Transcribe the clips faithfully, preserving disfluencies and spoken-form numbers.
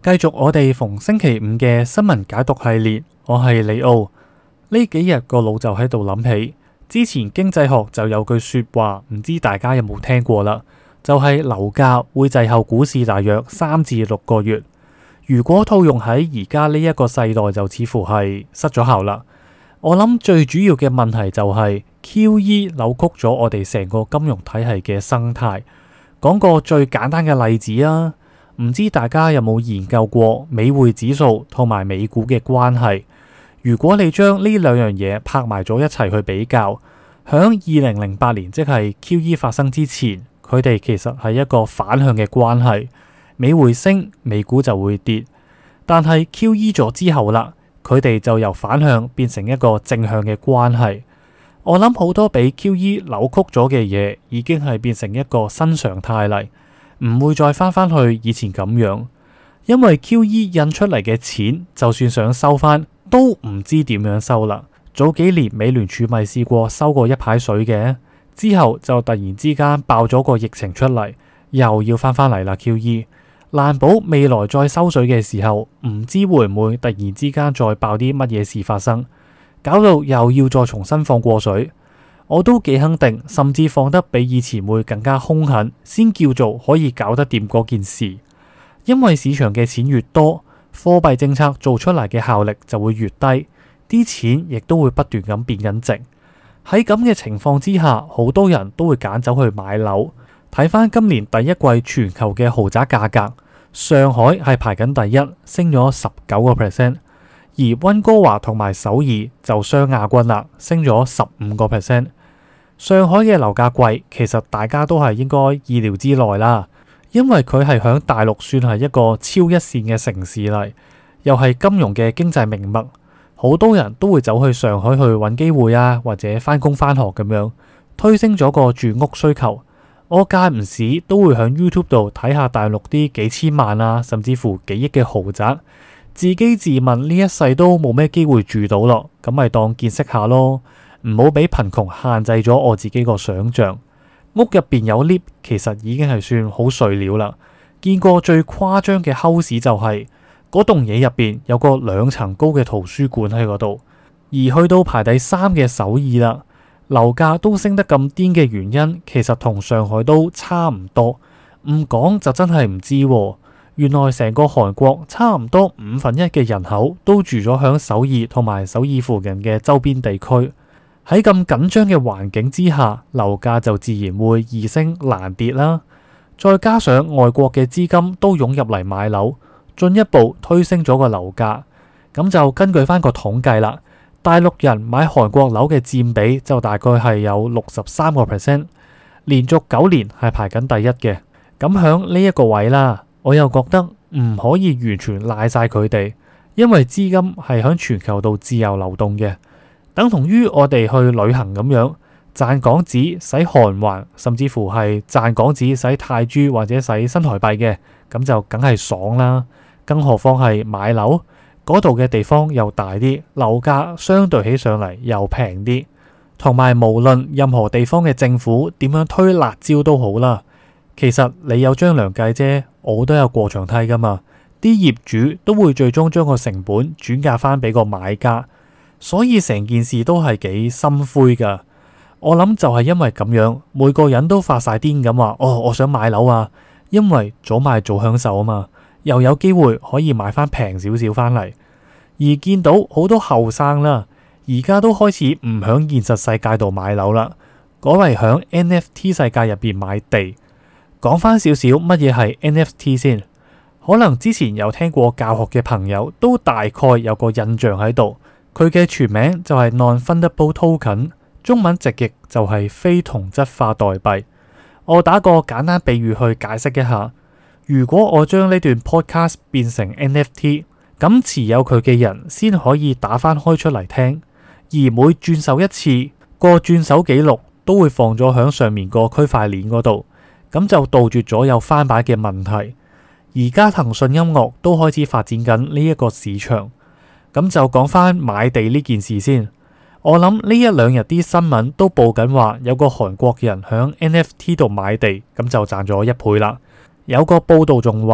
繼續我哋逢星期五嘅新聞解讀系列，我係李奧。呢幾日個腦就喺度諗起，之前經濟學就有句說話，唔知大家有冇聽過啦，就係樓價會滯後股市大約三至六個月。如果套用喺而家呢一個世代，就似乎係失咗效啦。我諗最主要嘅問題就係 Q E 扭曲咗我哋成個金融體系嘅生態。講個最簡單嘅例子啊，唔知大家有冇研究過美匯指數同埋美股嘅關係？如果你將呢兩樣嘢拍埋咗一齊去比較，響二零零八年即係 Q E 發生之前，佢哋其實係一個反向嘅關係，美匯升，美股就會跌。但係 Q E 咗之後啦，佢哋就由反向變成一個正向嘅關係。我諗好多俾 Q E 扭曲咗嘅嘢，已經係變成一個新常態嚟，唔會再翻返去以前咁樣。因為 Q E 印出嚟嘅錢，就算想收翻，都唔知點樣收啦。早幾年美聯儲咪試過收過一排水嘅，之後就突然之間爆咗個疫情出嚟，又要翻返嚟啦。Q E 難保未來再收水嘅時候，唔知會唔會突然之間再爆啲乜嘢事發生。搞到又要再重新放過水，我都幾肯定，甚至放得比以前會更加兇狠，先叫做可以搞得掂嗰件事。因為市場嘅錢越多，貨幣政策做出嚟嘅效力就會越低，啲錢亦都會不斷咁變緊值。喺咁嘅情況之下，好多人都會揀走去買樓。睇翻今年第一季全球嘅豪宅價格，上海係排緊第一，升咗十九個 percent。而溫哥華同埋首爾就雙亞軍啦，升咗十五個 percent。上海嘅樓價貴，其實大家都係應該意料之內啦，因為佢係響大陸算係一個超一線嘅城市嚟，又係金融嘅經濟命脈，好多人都會走去上海去揾機會啊，或者返工返學咁樣，推升咗個住屋需求。我間唔時都會響 YouTube 度睇下大陸啲幾千萬啊，甚至乎幾億嘅豪宅。自己自問呢一世都冇咩機會住到咯，咁咪當見識下咯，唔好俾貧窮限制咗我自己個想象。屋入邊有 lift，其實已經係算好碎料啦。見過最誇張嘅 house 就係嗰棟嘢入邊有個兩層高嘅圖書館喺嗰度。而去到排第三嘅首爾啦，樓價都升得咁癲嘅原因，其實同上海都差唔多。唔講就真係唔知喎。原來成個韓國差唔多五分一嘅人口都住咗響首爾同埋首爾附近嘅周邊地區。喺咁緊張嘅環境之下，樓價就自然會易升難跌啦。再加上外國嘅資金都湧入嚟買樓，進一步推升咗個樓價。咁就根據翻個統計啦，大陸人買韓國樓嘅佔比就大概係有六十三個 percent，連續九年係排緊第一嘅。咁響呢一個位啦，我又覺得唔可以完全賴晒佢哋，因為資金係響全球度自由流動嘅，等同於我哋去旅行咁樣，賺港紙使韓圜，甚至乎係賺港紙使泰銖或者使新台幣嘅，咁就梗係爽啦。更何況係買樓嗰度嘅地方又大啲，樓價相對起上嚟又平啲，同埋無論任何地方嘅政府點樣推辣椒都好啦。其實你有張良計啫，我都有過牆梯噶嘛。啲業主都會最終將個成本轉嫁翻俾個買家，所以成件事都係幾心灰噶。我諗就係因為咁樣，每個人都發晒癲咁話，哦，我想買樓啊，因為早買早享受啊嘛，又有機會可以買翻平少少翻嚟。而見到好多後生啦，而家都開始唔響現實世界度買樓啦，改為響 N F T 世界入邊買地。講翻少少乜嘢係 N F T 先，可能之前有聽過教學嘅朋友都大概有個印象喺度。佢嘅全名就係 Non-Fungible Token， 中文直譯就係非同質化代幣。我打個簡單比喻去解釋一下，如果我將呢段 podcast 變成 N F T， 咁持有佢嘅人先可以打翻開出嚟聽，而每轉手一次，個轉手記錄都會放咗響上面個區塊鏈嗰度。咁就杜絕咗有翻版嘅問題。而家騰訊音樂都開始發展緊呢一個市場。咁就講翻買地呢件事先。我諗呢一兩日啲新聞都報緊話，有個韓國人響 N F T 度買地，咁就賺咗一倍啦。有個報道仲話，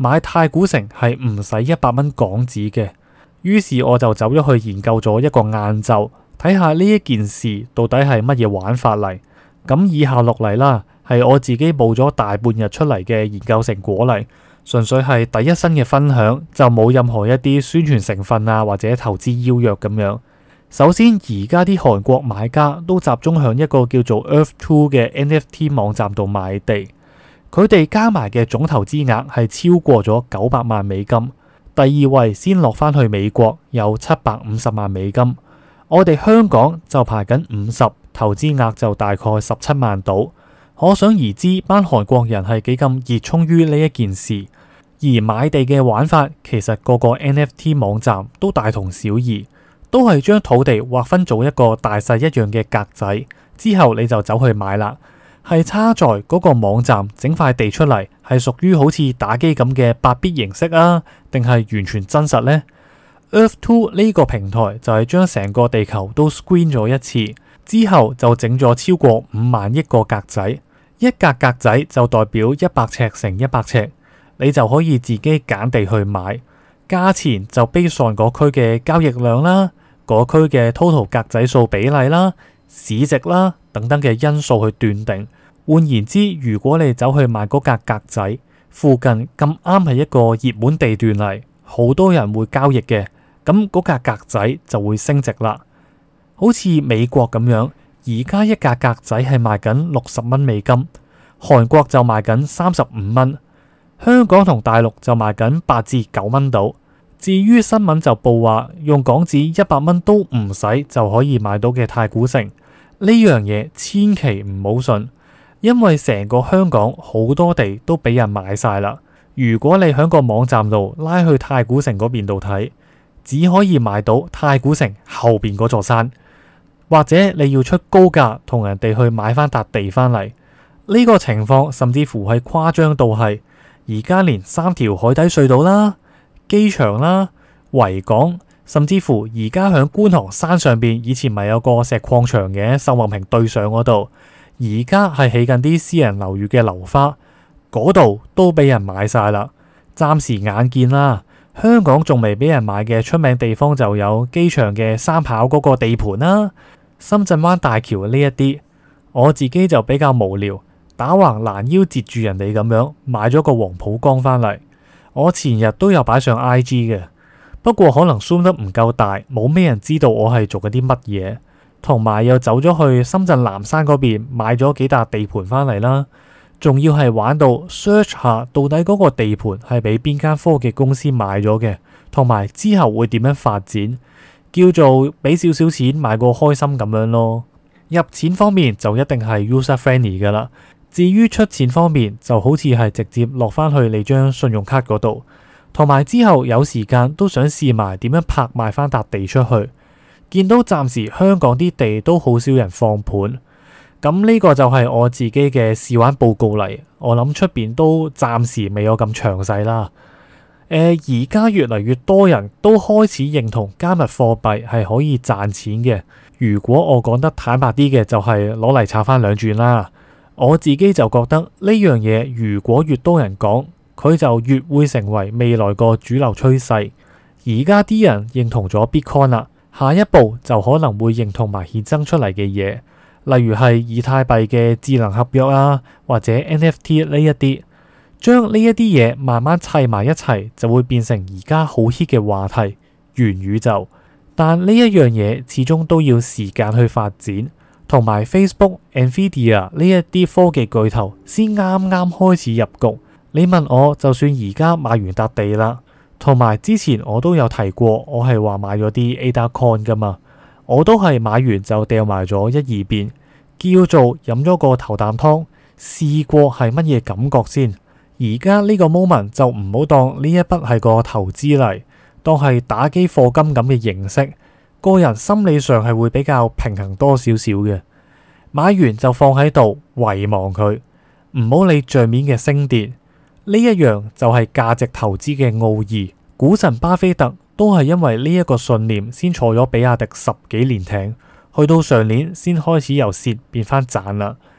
買太古城係唔使一百蚊港紙嘅。於是我就走咗去研究咗一個晏晝，睇下呢一件事到底係乜嘢玩法嚟。咁以下落嚟啦，係我自己報咗大半日出嚟嘅研究成果嚟，純粹係第一身嘅分享，就冇任何一啲宣傳成分啊或者投資邀約咁樣。首先，而家啲韓國買家都集中向一個叫做 Earth Two 嘅 N F T 網站度買地，佢哋加埋嘅總投資額係超過咗九百萬美金。第二位先落返去美國，有七百五十萬美金。我哋香港就排緊五十，投資額就大概十七萬到。可想而知，班韓國人係幾咁熱衷於呢一件事。而買地嘅玩法，其實個個 N F T 網站都大同小異，都係將土地劃分做一個大細一樣嘅格仔，之後你就走去買啦。係差在嗰個網站整塊地出嚟，係屬於好似打機咁嘅八 bit 形式啊，定係完全真實呢？ Earth Two 呢個平台就係將成個地球都 screen 咗一次，之後就整咗超過五萬億個格仔，一格格仔就代表一百尺乘一百尺，你就可以自己揀地去買，價錢就 based on 嗰區嘅交易量啦，嗰區嘅 total 格仔數比例啦、市值啦等等嘅因素去斷定。換言之，如果你走去買嗰格格仔，附近咁啱係一個熱門地段嚟，好多人會交易嘅，咁嗰格格仔就會升值啦。好似美國咁樣，而家一格格仔係賣緊六十蚊美金，韓國就賣緊三十五蚊，香港同大陸就賣緊八至九蚊到。至於新聞就報話，用港紙一百蚊都唔使就可以買到嘅太古城，呢樣嘢千祈唔好信，因為成個香港好多地都俾人買晒啦。如果你喺個網站度拉去太古城嗰邊度睇，只可以買到太古城後邊嗰座山，或者你要出高價同人哋去買翻笪地翻嚟。呢個情況甚至乎係誇張到係，而家連三條海底隧道啦、機場啦、維港，甚至乎而家響觀塘山上邊，以前咪有個石礦場嘅，秀茂坪對上嗰度，而家係起緊啲私人樓宇嘅樓花，嗰度都俾人買晒啦。暫時眼見啦，香港仲未俾人買嘅出名地方就有機場嘅三跑嗰個地盤啦、深圳灣大橋呢一啲。我自己就比較無聊，打橫攔腰截住人哋咁樣買咗個黃浦江翻嚟。我前日都有擺上 I G 嘅，不過可能 zoom 得唔夠大，冇咩人知道我係做緊啲乜嘢。同埋又走咗去深圳南山嗰邊買咗幾笪地盤翻嚟啦，仲要係玩到 search 下到底嗰個地盤係俾邊間科技公司買咗嘅，同埋之後會點樣發展，叫做俾少少錢買個開心咁樣咯。入錢方面就一定係 user friendly 噶啦。至於出錢方面，就好似係直接落返去你張信用卡嗰度，同埋之後有時間都想試埋點樣拍賣返笪地出去。見到暫時香港啲地都好少人放盤，咁呢個就係我自己嘅試玩報告嚟。我諗出邊都暫時未有咁詳細啦。誒、呃，而家越嚟越多人都開始認同加密貨幣係可以賺錢嘅。如果我講得坦白啲嘅，就係攞嚟炒返兩轉啦。我自己就覺得呢樣嘢，如果越多人講，佢就越會成為未來個主流趨勢。而家啲人認同咗 Bitcoin 啦，下一步就可能會認同埋衍生出嚟嘅嘢，例如係以太幣嘅智能合約啊，或者 N F T 呢一啲，將呢一啲嘢慢慢砌埋一齊，就會變成而家好 hit 嘅話題——元宇宙。但呢一樣嘢始終都要時間去發展。同埋 Facebook、Nvidia 呢一啲科技巨頭先啱啱開始入局。你問我，就算而家買完笪地啦，同埋之前我都有提過，我係話買咗啲 A D A Coin 噶嘛，我都係買完就掉埋咗一二邊，叫做飲咗個頭啖湯，試過係乜嘢感覺先。而家呢個 moment 就唔好當呢一筆係個投資嚟，當係打機課金咁嘅形式。個人心理上係會比較平衡多少少嘅，買完就放喺度遺忘佢，唔好理賬面嘅升跌。呢一樣就係價值投資嘅奧義。股神巴菲特都係因為呢一個信念先坐咗比亞迪十幾年艇，去到上年先開始由蝕變翻賺啦。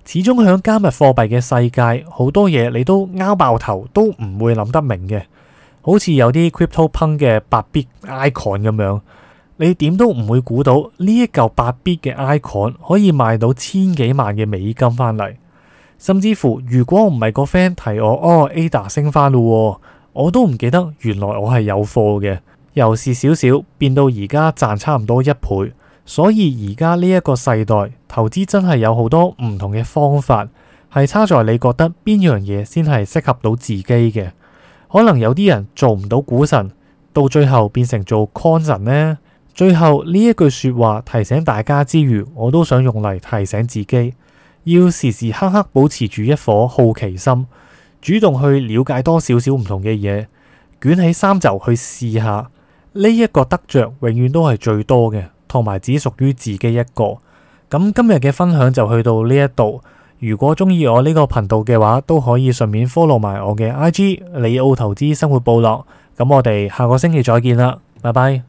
始終響加密貨幣嘅世界，好多嘢你都拗爆頭都唔會諗得明嘅。好似有啲 CryptoPunk 嘅八 bit icon 咁樣，你點都唔會估到呢一嚿八 bit 嘅 icon 可以賣到千幾萬嘅美金翻嚟。甚至乎，如果唔係個 friend 提我，哦 A D A 升翻咯，我都唔記得原來我係有貨嘅。由是少少變到而家賺差唔多一倍。所以而家呢一個世代，投資真係有好多唔同嘅方法，係差在你覺得邊樣嘢先係適合到自己嘅。可能有啲人做唔到股神，到最後變成做 Coin 神呢。最後呢一句說話提醒大家之餘，我都想用嚟提醒自己，要時時刻刻保持住一顆好奇心，主動去了解多少少唔同嘅嘢，捲起衫袖去試下。呢一個得着永遠都係最多嘅，同埋只屬於自己一個。咁今日嘅分享就去到呢一度。如果中意我呢個頻道嘅話，都可以順便 follow 埋我嘅 I G 李奧投資生活部落。咁我哋下個星期再見啦，拜拜。